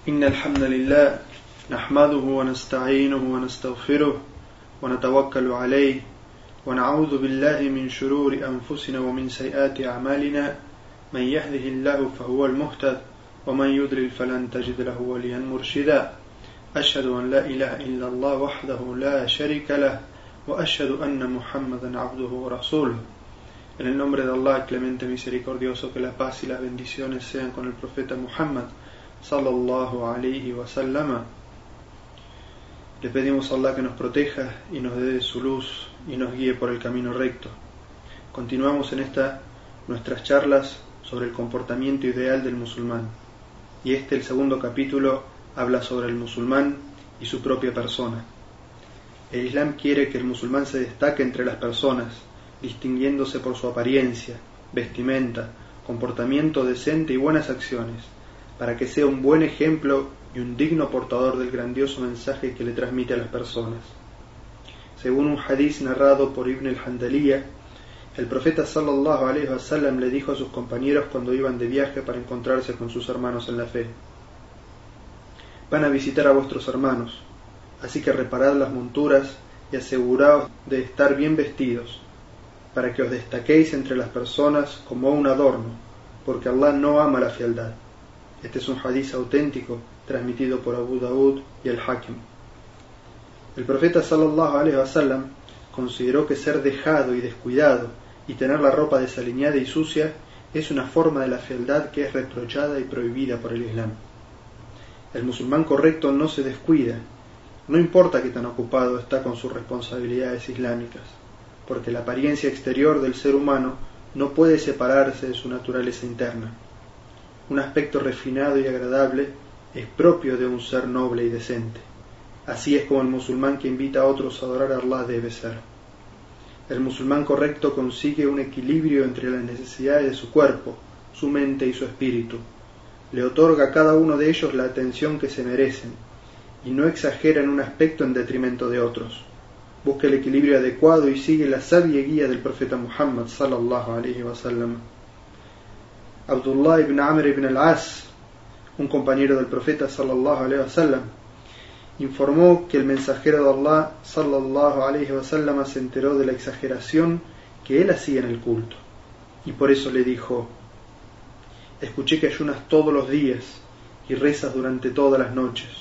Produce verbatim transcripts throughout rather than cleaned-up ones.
إن الحمد لله نحمده ونستعينه ونستغفره ونتوكل عليه ونعوذ بالله من شرور أنفسنا ومن سيئات أعمالنا من يهده الله فهو المهتد ومن يضلل فلن تجد له وليا مرشدا أشهد أن لا إله إلا الله وحده لا شريك له وأشهد أن محمدا عبده ورسوله. En el nombre de Allah, clemente misericordioso, que la paz y las bendiciones sean con el profeta Muhammad sallallahu alayhi wa sallam. Le pedimos a Allah que nos proteja y nos dé su luz y nos guíe por el camino recto. Continuamos en esta nuestras charlas sobre el comportamiento ideal del musulmán, y este, el segundo capítulo, habla sobre el musulmán y su propia persona. El Islam quiere que el musulmán se destaque entre las personas, distinguiéndose por su apariencia, vestimenta, comportamiento decente y buenas acciones, para que sea un buen ejemplo y un digno portador del grandioso mensaje que le transmite a las personas. Según un hadiz narrado por Ibn al-Handaliyah, el profeta sallallahu alayhi wa sallam le dijo a sus compañeros cuando iban de viaje para encontrarse con sus hermanos en la fe: van a visitar a vuestros hermanos, así que reparad las monturas y aseguraos de estar bien vestidos, para que os destaquéis entre las personas como un adorno, porque Allah no ama la fealdad. Este es un hadiz auténtico transmitido por Abu Daud y el Hakim. El profeta sallallahu alayhi wa sallam consideró que ser dejado y descuidado y tener la ropa desaliñada y sucia es una forma de la fealdad que es reprochada y prohibida por el Islam. El musulmán correcto no se descuida, no importa qué tan ocupado está con sus responsabilidades islámicas, porque la apariencia exterior del ser humano no puede separarse de su naturaleza interna. Un aspecto refinado y agradable es propio de un ser noble y decente. Así es como el musulmán que invita a otros a adorar a Allah debe ser. El musulmán correcto consigue un equilibrio entre las necesidades de su cuerpo, su mente y su espíritu. Le otorga a cada uno de ellos la atención que se merecen y no exagera en un aspecto en detrimento de otros. Busca el equilibrio adecuado y sigue la sabia guía del profeta Muhammad sallallahu alayhi wa sallam. Abdullah ibn Amr ibn al-As, un compañero del profeta sallallahu alayhi wa sallam, informó que el mensajero de Allah sallallahu alayhi wa sallam se enteró de la exageración que él hacía en el culto, y por eso le dijo: escuché que ayunas todos los días y rezas durante todas las noches.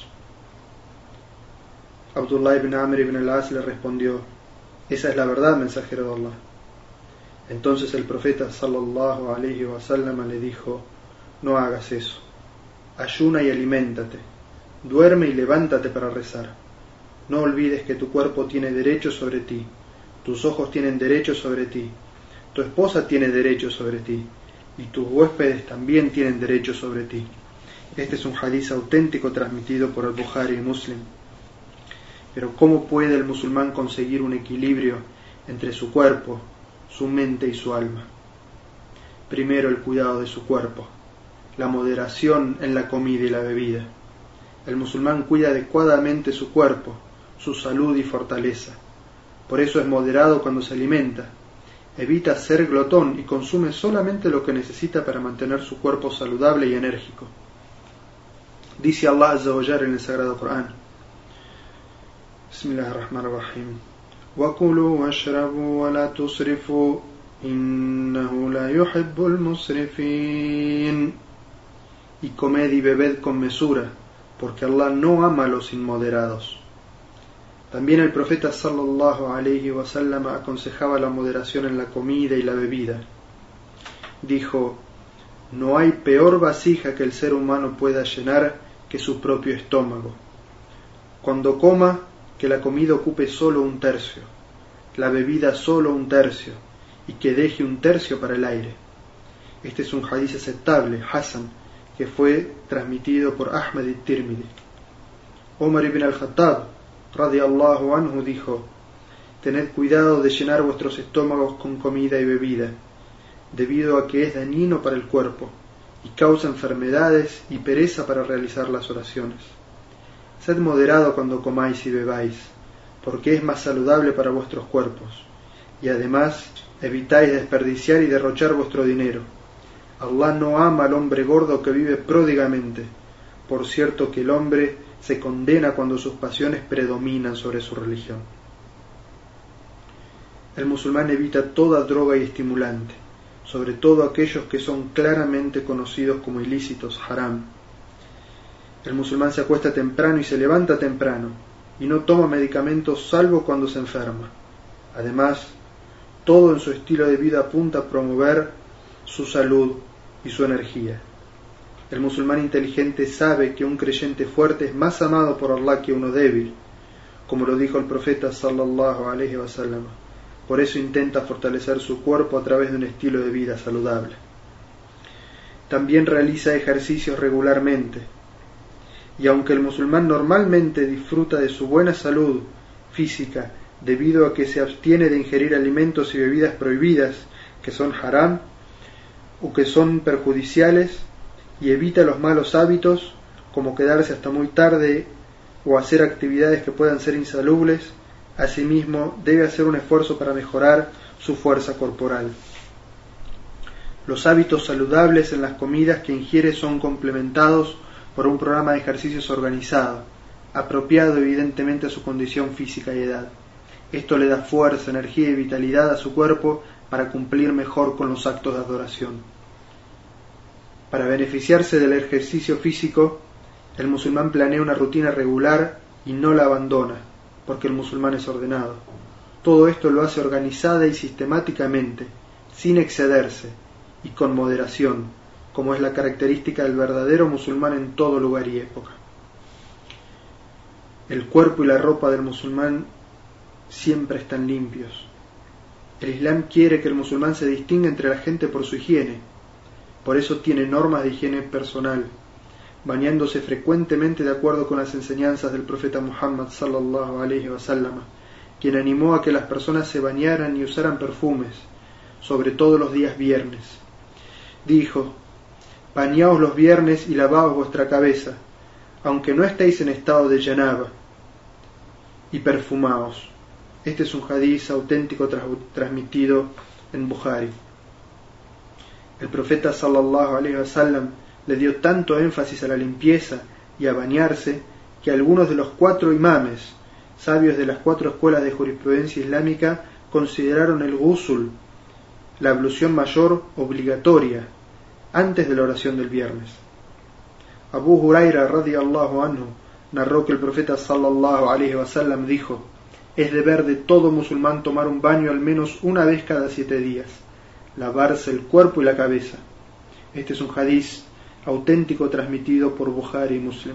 Abdullah ibn Amr ibn al-As le respondió: esa es la verdad, mensajero de Allah. Entonces el profeta sallallahu alayhi wa sallam le dijo: no hagas eso, ayuna y aliméntate, duerme y levántate para rezar. No olvides que tu cuerpo tiene derecho sobre ti, tus ojos tienen derecho sobre ti, tu esposa tiene derecho sobre ti, y tus huéspedes también tienen derecho sobre ti. Este es un hadiz auténtico transmitido por el Bukhari y Muslim. Pero ¿cómo puede el musulmán conseguir un equilibrio entre su cuerpo, su mente y su alma? Primero, el cuidado de su cuerpo, la moderación en la comida y la bebida. El musulmán cuida adecuadamente su cuerpo, su salud y fortaleza. Por eso es moderado cuando se alimenta. Evita ser glotón y consume solamente lo que necesita para mantener su cuerpo saludable y enérgico. Dice Allah Azza wa Jalla en el Sagrado Corán: Bismillahirrahmanirrahim. وَكُلُوا وَاشْرَبُوا وَلَا تُسْرِفُوا إِنَّهُ لَا يُحِبُّ الْمُسْرِفِينَ. Y comed y bebed con mesura, porque Allah no ama a los inmoderados. También el profeta sallallahu alayhi wa sallam aconsejaba la moderación en la comida y la bebida. Dijo: no hay peor vasija que el ser humano pueda llenar que su propio estómago. Cuando coma, que la comida ocupe solo un tercio, la bebida solo un tercio, y que deje un tercio para el aire. Este es un hadiz aceptable, Hasan, que fue transmitido por Ahmad y Tirmidhi. Omar ibn al-Khattab radiyallahu anhu dijo: tened cuidado de llenar vuestros estómagos con comida y bebida, debido a que es dañino para el cuerpo y causa enfermedades y pereza para realizar las oraciones. Sed moderado cuando comáis y bebáis, porque es más saludable para vuestros cuerpos, y además evitáis desperdiciar y derrochar vuestro dinero. Allah no ama al hombre gordo que vive pródigamente, Por cierto que el hombre se condena cuando sus pasiones predominan sobre su religión. El musulmán evita toda droga y estimulante, sobre todo aquellos que son claramente conocidos como ilícitos, haram. El musulmán se acuesta temprano y se levanta temprano, y no toma medicamentos salvo cuando se enferma. Además, todo en su estilo de vida apunta a promover su salud y su energía. El musulmán inteligente sabe que un creyente fuerte es más amado por Allah que uno débil, como lo dijo el profeta sallallahu alaihi wasallam. Por eso intenta fortalecer su cuerpo a través de un estilo de vida saludable. También realiza ejercicios regularmente, y aunque el musulmán normalmente disfruta de su buena salud física debido a que se abstiene de ingerir alimentos y bebidas prohibidas que son haram o que son perjudiciales, y evita los malos hábitos como quedarse hasta muy tarde o hacer actividades que puedan ser insalubres, asimismo debe hacer un esfuerzo para mejorar su fuerza corporal. Los hábitos saludables en las comidas que ingiere son complementados por un programa de ejercicios organizado, apropiado evidentemente a su condición física y edad. Esto le da fuerza, energía y vitalidad a su cuerpo para cumplir mejor con los actos de adoración. Para beneficiarse del ejercicio físico, el musulmán planea una rutina regular y no la abandona, porque el musulmán es ordenado. Todo esto lo hace organizada y sistemáticamente, sin excederse y con moderación, como es la característica del verdadero musulmán en todo lugar y época. El cuerpo y la ropa del musulmán siempre están limpios. El Islam quiere que el musulmán se distinga entre la gente por su higiene. Por eso tiene normas de higiene personal, bañándose frecuentemente de acuerdo con las enseñanzas del profeta Muhammad sallallahu alaihi wasallam, quien animó a que las personas se bañaran y usaran perfumes, sobre todo los días viernes. Dijo: bañaos los viernes y lavaos vuestra cabeza, aunque no estéis en estado de janaba, y perfumaos. Este es un hadiz auténtico tras, transmitido en Bukhari. El profeta sallallahu alaihi wasallam le dio tanto énfasis a la limpieza y a bañarse que algunos de los cuatro imames, sabios de las cuatro escuelas de jurisprudencia islámica, consideraron el ghusl, la ablución mayor, obligatoria antes de la oración del viernes. Abu Huraira radiyallahu anhu narró que el profeta sallallahu alaihi wasallam dijo: es deber de todo musulmán tomar un baño al menos una vez cada siete días, lavarse el cuerpo y la cabeza. Este es un hadiz auténtico transmitido por Bukhari y Muslim.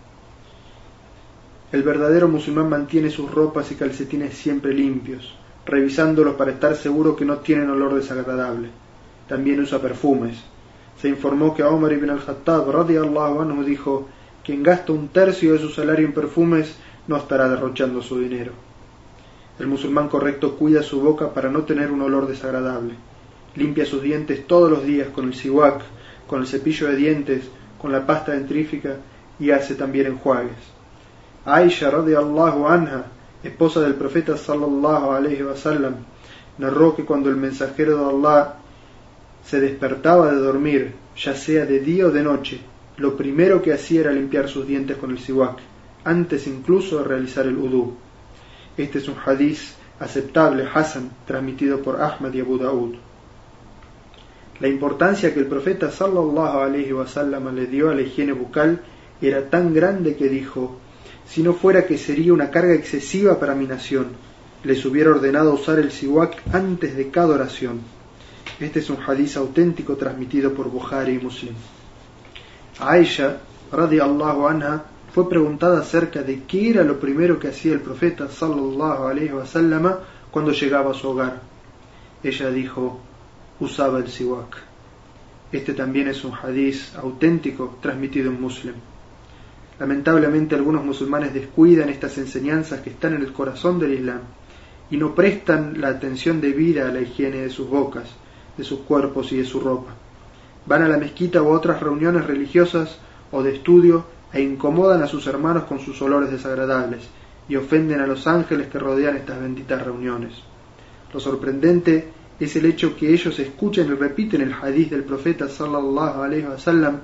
El verdadero musulmán mantiene sus ropas y calcetines siempre limpios, revisándolos para estar seguro que no tienen olor desagradable. También usa perfumes. Se informó que Umar ibn al-Khattab radiyallahu anhu dijo: quien gasta un tercio de su salario en perfumes no estará derrochando su dinero. El musulmán correcto cuida su boca para no tener un olor desagradable. Limpia sus dientes todos los días con el siwak, con el cepillo de dientes, con la pasta dentrífica, y hace también enjuagues. Aisha radiyallahu anha, esposa del profeta sallallahu alaihi wasallam, narró que cuando el mensajero de Allah se despertaba de dormir, ya sea de día o de noche, lo primero que hacía era limpiar sus dientes con el siwak, antes incluso de realizar el udú. Este es un hadiz aceptable, hasan, transmitido por Ahmad y Abu Daud. La importancia que el profeta sallallahu alaihi wasallam le dio a la higiene bucal era tan grande que dijo: si no fuera que sería una carga excesiva para mi nación, les hubiera ordenado usar el siwak antes de cada oración. Este es un hadiz auténtico transmitido por Bukhari y Muslim. Aisha radiyallahu anha fue preguntada acerca de qué era lo primero que hacía el profeta sallallahu alaihi wasallam cuando llegaba a su hogar. Ella dijo: usaba el siwak. Este también es un hadiz auténtico transmitido en Muslim. Lamentablemente algunos musulmanes descuidan estas enseñanzas que están en el corazón del Islam y no prestan la atención debida a la higiene de sus bocas, de sus cuerpos y de su ropa. Van a la mezquita u otras reuniones religiosas o de estudio e incomodan a sus hermanos con sus olores desagradables y ofenden a los ángeles que rodean estas benditas reuniones. Lo sorprendente es el hecho que ellos escuchan y repiten el hadiz del profeta sallallahu alaihi wasallam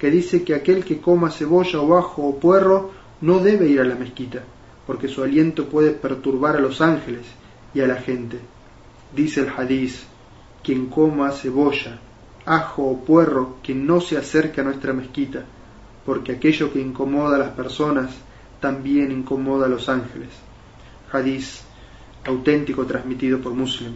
que dice que aquel que coma cebolla o ajo o puerro no debe ir a la mezquita, porque su aliento puede perturbar a los ángeles y a la gente. Dice el hadiz: quien coma cebolla, ajo o puerro, que no se acerque a nuestra mezquita, porque aquello que incomoda a las personas también incomoda a los ángeles. Hadiz auténtico transmitido por Muslim.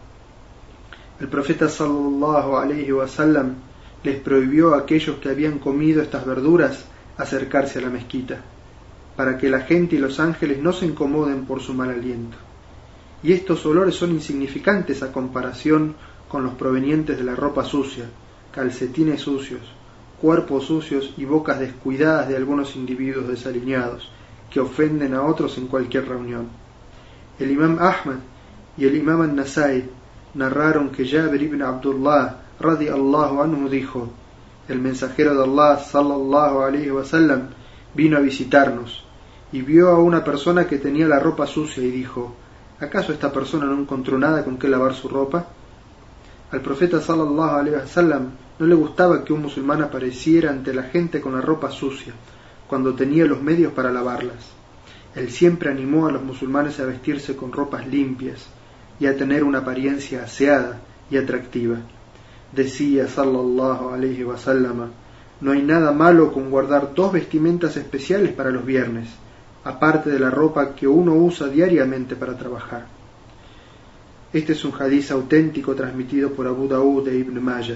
El profeta sallallahu alaihi wasallam les prohibió a aquellos que habían comido estas verduras acercarse a la mezquita, para que la gente y los ángeles no se incomoden por su mal aliento. Y estos olores son insignificantes a comparación con los provenientes de la ropa sucia, calcetines sucios, cuerpos sucios y bocas descuidadas de algunos individuos desaliñados, que ofenden a otros en cualquier reunión. El imam Ahmad y el imam An-Nasai narraron que Jabir ibn Abdullah radiyallahu anhu dijo: el mensajero de Allah sallallahu alaihi wasallam vino a visitarnos y vio a una persona que tenía la ropa sucia y dijo: ¿acaso esta persona no encontró nada con que lavar su ropa? Al profeta sallallahu alaihi wasallam no le gustaba que un musulmán apareciera ante la gente con la ropa sucia, cuando tenía los medios para lavarlas. Él siempre animó a los musulmanes a vestirse con ropas limpias y a tener una apariencia aseada y atractiva. Decía sallallahu alaihi wasallam: no hay nada malo con guardar dos vestimentas especiales para los viernes, aparte de la ropa que uno usa diariamente para trabajar. Este es un hadiz auténtico transmitido por Abu Daud e Ibn Majah.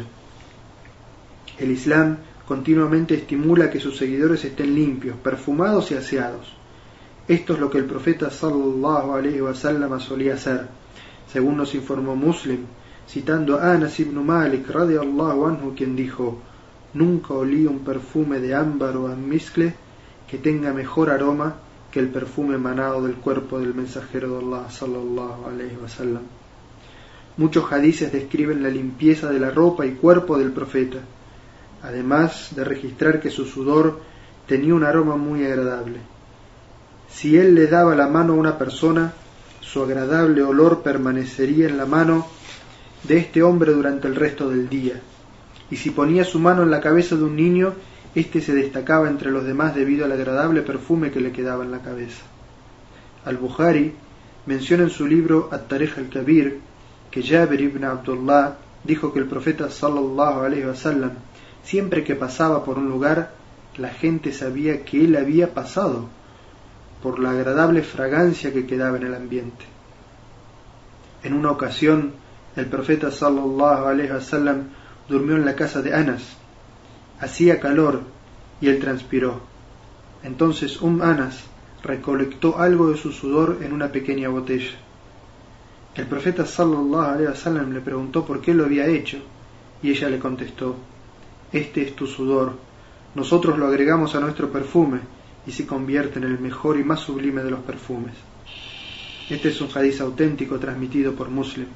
El Islam continuamente estimula que sus seguidores estén limpios, perfumados y aseados. Esto es lo que el profeta sallallahu alaihi wasallam solía hacer, según nos informó Muslim, citando a Anas ibn Malik radiyallahu anhu, quien dijo: nunca olí un perfume de ámbar o almizcle que tenga mejor aroma que el perfume emanado del cuerpo del mensajero de Allah sallallahu alaihi wasallam. Muchos hadices describen la limpieza de la ropa y cuerpo del profeta, además de registrar que su sudor tenía un aroma muy agradable. Si él le daba la mano a una persona, su agradable olor permanecería en la mano de este hombre durante el resto del día, y si ponía su mano en la cabeza de un niño, éste se destacaba entre los demás debido al agradable perfume que le quedaba en la cabeza. Al-Bukhari menciona en su libro At-Tarikh al-Kabir que Jabir ibn Abdullah dijo que el profeta sallallahu alaihi wasallam, siempre que pasaba por un lugar, la gente sabía que él había pasado, por la agradable fragancia que quedaba en el ambiente. En una ocasión, el profeta sallallahu alaihi wasallam durmió en la casa de Anas. Hacía calor y él transpiró. Entonces Umm Anas recolectó algo de su sudor en una pequeña botella. El profeta sallallahu alaihi wasallam le preguntó por qué lo había hecho, y ella le contestó: este es tu sudor, nosotros lo agregamos a nuestro perfume y se convierte en el mejor y más sublime de los perfumes. Este es un hadiz auténtico transmitido por Muslim.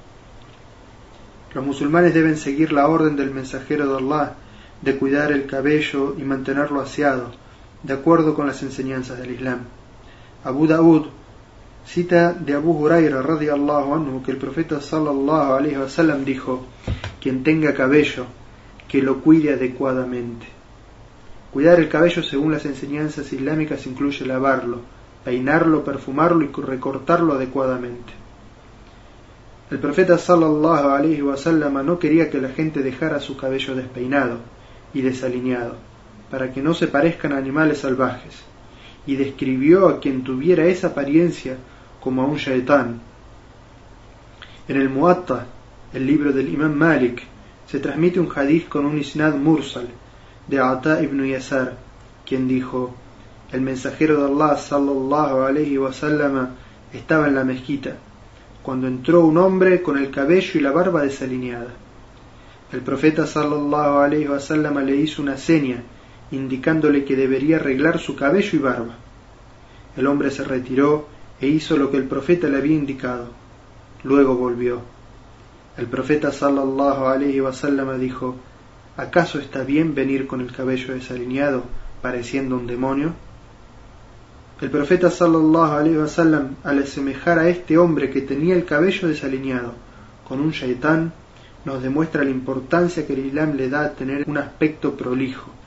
Los musulmanes deben seguir la orden del mensajero de Allah de cuidar el cabello y mantenerlo aseado, de acuerdo con las enseñanzas del Islam. Abu Daud cita de Abu Huraira radiyallahu anhu que el profeta sallallahu alaihi wasallam dijo: quien tenga cabello, que lo cuide adecuadamente. Cuidar el cabello según las enseñanzas islámicas incluye lavarlo, peinarlo, perfumarlo y recortarlo adecuadamente. El profeta sallallahu alaihi wasallam no quería que la gente dejara su cabello despeinado y desalineado, para que no se parezcan a animales salvajes, y describió a quien tuviera esa apariencia como a un shaitán. En el Muwatta, el libro del imam Malik, se transmite un hadith con un isnad mursal de Ata ibn Yasar, quien dijo: el mensajero de Allah sallallahu alaihi wasallam estaba en la mezquita cuando entró un hombre con el cabello y la barba desalineada. El profeta sallallahu alaihi wasallam le hizo una seña indicándole que debería arreglar su cabello y barba. El hombre se retiró e hizo lo que el profeta le había indicado. Luego volvió. El profeta sallallahu alaihi wasallam dijo: ¿acaso está bien venir con el cabello desalineado pareciendo un demonio? El profeta sallallahu alaihi wasallam, al asemejar a este hombre que tenía el cabello desalineado con un shaitán, nos demuestra la importancia que el Islam le da a tener un aspecto prolijo,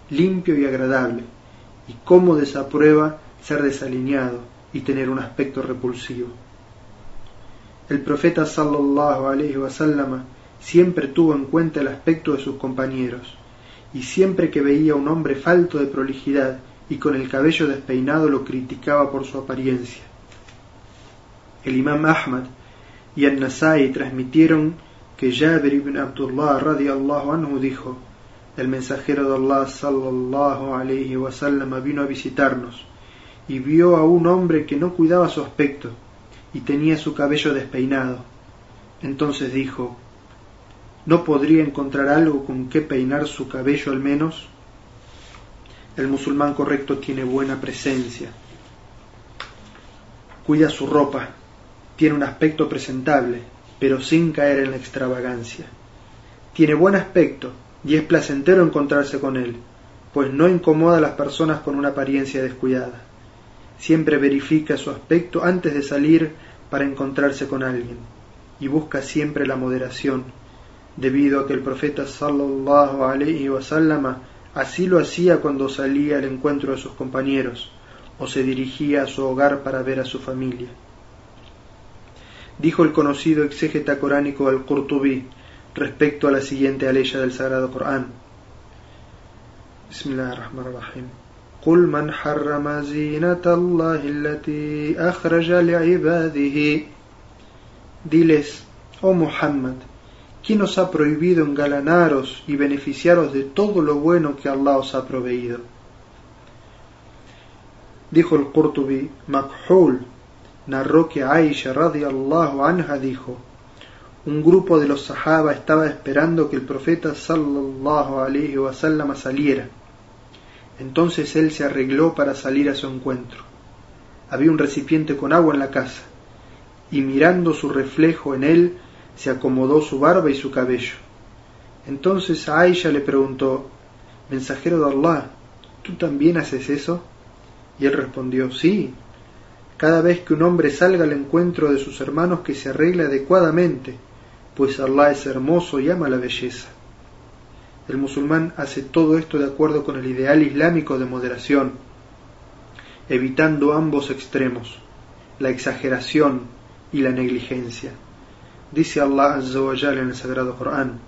limpio y agradable, y cómo desaprueba ser desaliñado y tener un aspecto repulsivo. El profeta sallallahu alaihi wasallam siempre tuvo en cuenta el aspecto de sus compañeros, y siempre que veía a un hombre falto de prolijidad y con el cabello despeinado lo criticaba por su apariencia. El imam Ahmad y An-Nasai transmitieron que Jabir ibn Abdullah radiyallahu anhu dijo: el mensajero de Allah sallallahu alaihi wasallam vino a visitarnos y vio a un hombre que no cuidaba su aspecto y tenía su cabello despeinado. Entonces dijo: ¿no podría encontrar algo con que peinar su cabello al menos? El musulmán correcto tiene buena presencia, cuida su ropa, tiene un aspecto presentable, pero sin caer en la extravagancia. Tiene buen aspecto y es placentero encontrarse con él, pues no incomoda a las personas con una apariencia descuidada. Siempre verifica su aspecto antes de salir para encontrarse con alguien, y busca siempre la moderación, debido a que el profeta sallallahu alaihi wasallam así lo hacía cuando salía al encuentro de sus compañeros o se dirigía a su hogar para ver a su familia. Dijo el conocido exégeta coránico al-Qurtubi respecto a la siguiente aleya del Sagrado Corán: Bismillahirrahmanirrahim. قل من حرم زينة الله التي أخرج لعباده. Diles, oh Muhammad, ¿quién os ha prohibido engalanaros y beneficiaros de todo lo bueno que Allah os ha proveído? Dijo el Qurtubi, Makhul narró que Aisha radiyallahu anha dijo: un grupo de los sahaba estaba esperando que el profeta sallallahu alaihi wasallam saliera. Entonces él se arregló para salir a su encuentro. Había un recipiente con agua en la casa, y mirando su reflejo en él, se acomodó su barba y su cabello. Entonces a Aisha le preguntó: Mensajero de Allah, ¿tú también haces eso? Y él respondió: sí, cada vez que un hombre salga al encuentro de sus hermanos que se arregle adecuadamente, pues Allah es hermoso y ama la belleza. El musulmán hace todo esto de acuerdo con el ideal islámico de moderación, evitando ambos extremos, la exageración y la negligencia. Dice Allah Azza wa Jalla en el Sagrado Corán: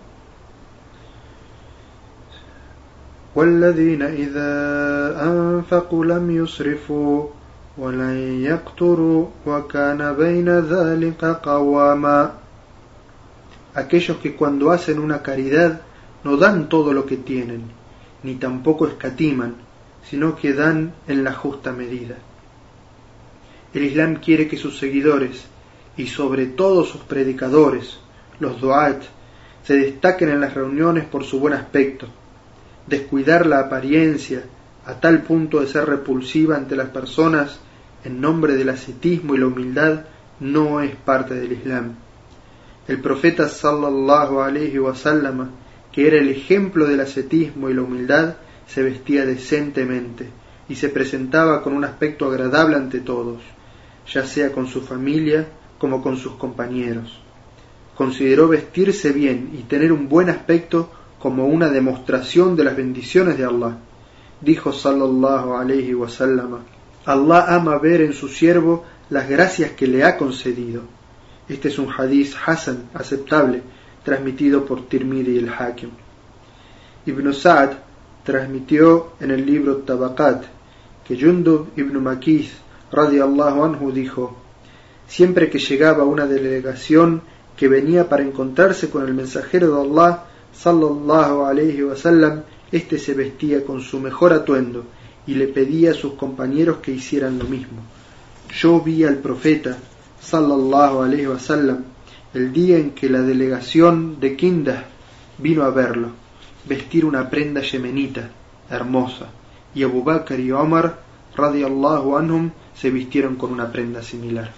وَالَّذِينَ إِذَا أَنفَقُوا لَمْ يُسْرِفُوا وَلَنْ يَقْتُرُوا وَكَانَ بَيْنَ ذَلِكَ قَوَامًا. Aquellos que cuando hacen una caridad no dan todo lo que tienen, ni tampoco escatiman, sino que dan en la justa medida. El Islam quiere que sus seguidores, y sobre todo sus predicadores, los du'at, se destaquen en las reuniones por su buen aspecto. Descuidar la apariencia a tal punto de ser repulsiva ante las personas en nombre del ascetismo y la humildad no es parte del Islam. El profeta sallallahu alaihi wasallam, que era el ejemplo del ascetismo y la humildad, se vestía decentemente y se presentaba con un aspecto agradable ante todos, ya sea con su familia como con sus compañeros. Consideró vestirse bien y tener un buen aspecto como una demostración de las bendiciones de Allah. Dijo sallallahu alaihi wasallam: Allah ama ver en su siervo las gracias que le ha concedido. Este es un hadiz hasan, aceptable, transmitido por Tirmidhi y el Hakim. Ibn Sa'd transmitió en el libro Tabaqat que Jundub ibn Makith radiyallahu anhu dijo: siempre que llegaba una delegación que venía para encontrarse con el mensajero de Allah sallallahu alaihi wasallam, este se vestía con su mejor atuendo y le pedía a sus compañeros que hicieran lo mismo. Yo vi al profeta sallallahu alaihi wasallam el día en que la delegación de Kindah vino a verlo, vestir una prenda yemenita hermosa, y Abu Bakr y Omar radiyallahu anhum se vistieron con una prenda similar.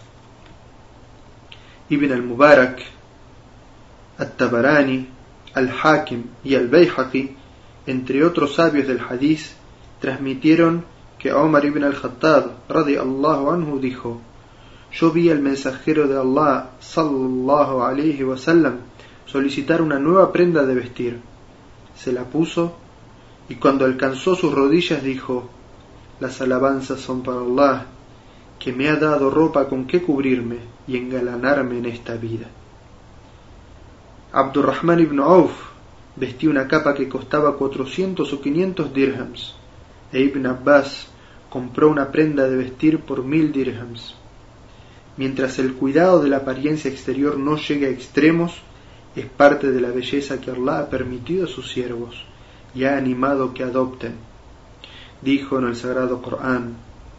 Ibn al-Mubarak, At-Tabarani, Al-Hakim y Al-Bayhaqi, entre otros sabios del hadith, transmitieron que Omar ibn al-Khattab radiyallahu anhu dijo: yo vi al mensajero de Allah sallallahu alaihi wasallam solicitar una nueva prenda de vestir. Se la puso y cuando alcanzó sus rodillas dijo: las alabanzas son para Allah, que me ha dado ropa con que cubrirme y engalanarme en esta vida. Abdurrahman ibn Auf vestía una capa que costaba cuatrocientos o quinientos dirhams, e Ibn Abbas compró una prenda de vestir por mil dirhams. Mientras el cuidado de la apariencia exterior no llegue a extremos, es parte de la belleza que Allah ha permitido a sus siervos y ha animado que adopten. Dijo en el Sagrado Corán: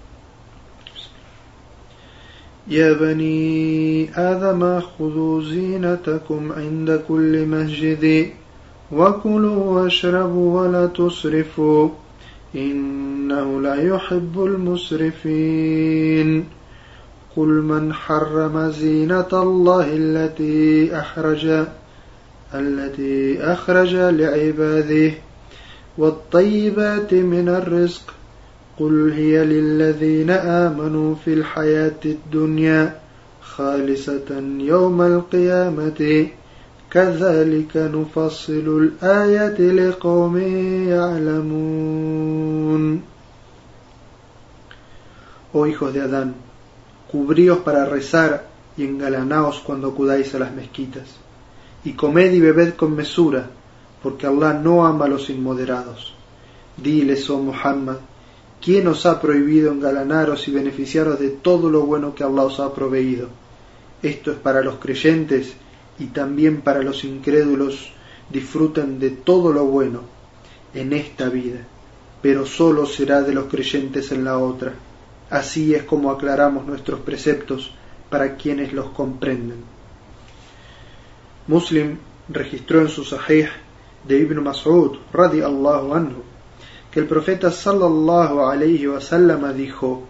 Ya bani Adama khudhu zinatakum inda kulli masjidi wa kulu washrabu wa la tusrifu innahu la yuhibbul musrifin. قل من حرم زينة الله التي أخرج التي أخرج لعباده والطيبات من الرزق قل هي للذين آمنوا في الحياة الدنيا خالصة يوم القيامة كذلك نفصل الآيات لقوم يعلمون. Oh hijos de Adán, cubríos para rezar y engalanaos cuando acudáis a las mezquitas, y comed y bebed con mesura, porque Allah no ama a los inmoderados. Diles, oh Muhammad, ¿quién os ha prohibido engalanaros y beneficiaros de todo lo bueno que Allah os ha proveído? Esto es para los creyentes y también para los incrédulos. Disfruten de todo lo bueno en esta vida, pero solo será de los creyentes en la otra. Así es como aclaramos nuestros preceptos para quienes los comprenden. Muslim registró en su Sahih de Ibn Mas'ud radiyallahu anhu que el profeta sallallahu alayhi wa sallam dijo: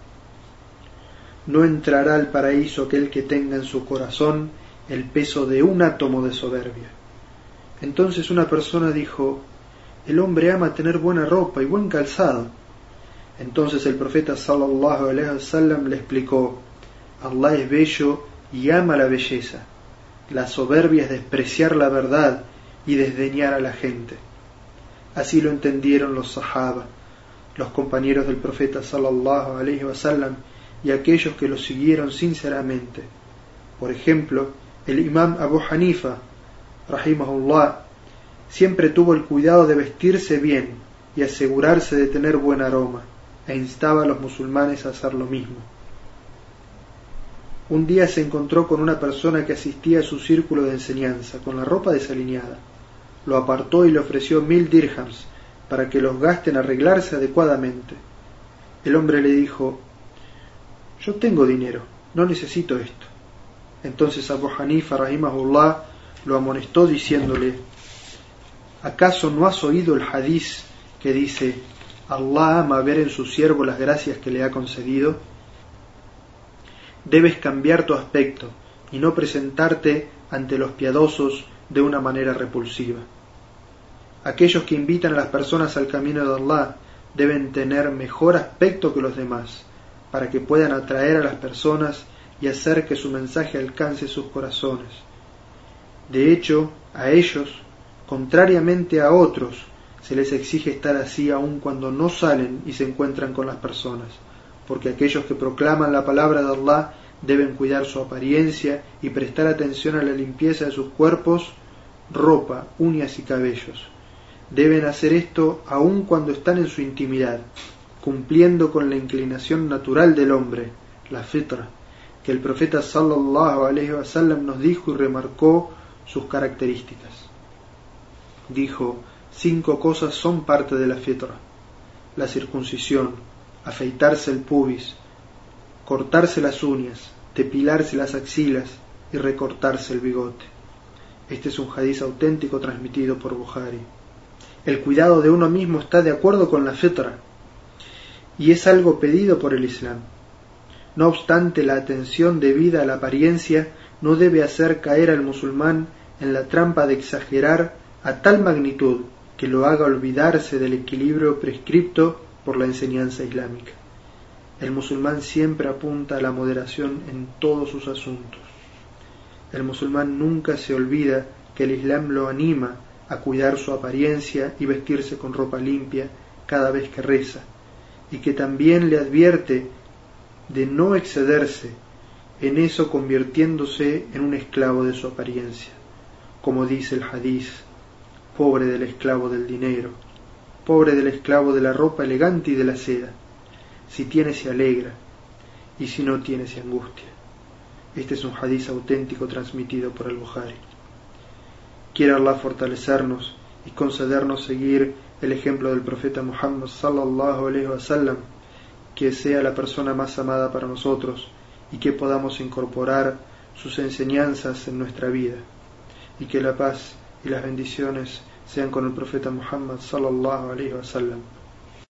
no entrará al paraíso aquel que tenga en su corazón el peso de un átomo de soberbia. Entonces una persona dijo: el hombre ama tener buena ropa y buen calzado. Entonces el profeta sallallahu alayhi wa sallam le explicó: Allah es bello y ama la belleza. La soberbia es despreciar la verdad y desdeñar a la gente. Así lo entendieron los sahaba, los compañeros del profeta sallallahu alayhi wa sallam, y aquellos que lo siguieron sinceramente. Por ejemplo, el imam Abu Hanifa, rahimahullah, siempre tuvo el cuidado de vestirse bien y asegurarse de tener buen aroma, e instaba a los musulmanes a hacer lo mismo. Un día se encontró con una persona que asistía a su círculo de enseñanza, con la ropa desalineada. Lo apartó y le ofreció mil dirhams para que los gaste en arreglarse adecuadamente. El hombre le dijo: yo tengo dinero, no necesito esto. Entonces Abu Hanifa rahimahullah lo amonestó diciéndole: ¿acaso no has oído el hadiz que dice: Allah ama ver en su siervo las gracias que le ha concedido? Debes cambiar tu aspecto y no presentarte ante los piadosos de una manera repulsiva. Aquellos que invitan a las personas al camino de Allah deben tener mejor aspecto que los demás, para que puedan atraer a las personas y hacer que su mensaje alcance sus corazones. De hecho, a ellos, contrariamente a otros, se les exige estar así aun cuando no salen y se encuentran con las personas, porque aquellos que proclaman la palabra de Allah deben cuidar su apariencia y prestar atención a la limpieza de sus cuerpos, ropa, uñas y cabellos. Deben hacer esto aun cuando están en su intimidad, cumpliendo con la inclinación natural del hombre, la fitra, que el profeta sallallahu alayhi wa sallam nos dijo y remarcó sus características. Dijo: cinco cosas son parte de la fitra: la circuncisión, afeitarse el pubis, cortarse las uñas, depilarse las axilas y recortarse el bigote. Este es un hadiz auténtico transmitido por Bukhari. El cuidado de uno mismo está de acuerdo con la fitra y es algo pedido por el Islam. No obstante, la atención debida a la apariencia no debe hacer caer al musulmán en la trampa de exagerar a tal magnitud que lo haga olvidarse del equilibrio prescripto por la enseñanza islámica. El musulmán siempre apunta a la moderación en todos sus asuntos. El musulmán nunca se olvida que el Islam lo anima a cuidar su apariencia y vestirse con ropa limpia cada vez que reza, y que también le advierte de no excederse en eso convirtiéndose en un esclavo de su apariencia, como dice el hadiz: pobre del esclavo del dinero, pobre del esclavo de la ropa elegante y de la seda, si tiene se alegra, y si no tiene se angustia. Este es un hadiz auténtico transmitido por el Bukhari. Quiere Allah fortalecernos y concedernos seguir el ejemplo del profeta Muhammad sallallahu alaihi wasallam, que sea la persona más amada para nosotros y que podamos incorporar sus enseñanzas en nuestra vida, y que la paz y las bendiciones sean con el profeta Muhammad sallallahu alaihi wasallam.